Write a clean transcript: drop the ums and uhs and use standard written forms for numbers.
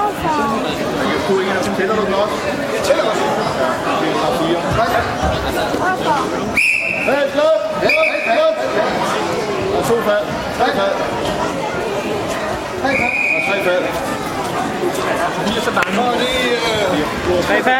Tæller du den også? Jeg tæller også. Ja, 4. Hey, klub! Og 2 fald. 3 fald. Og 3 fald. 4 så bange. 3 fald.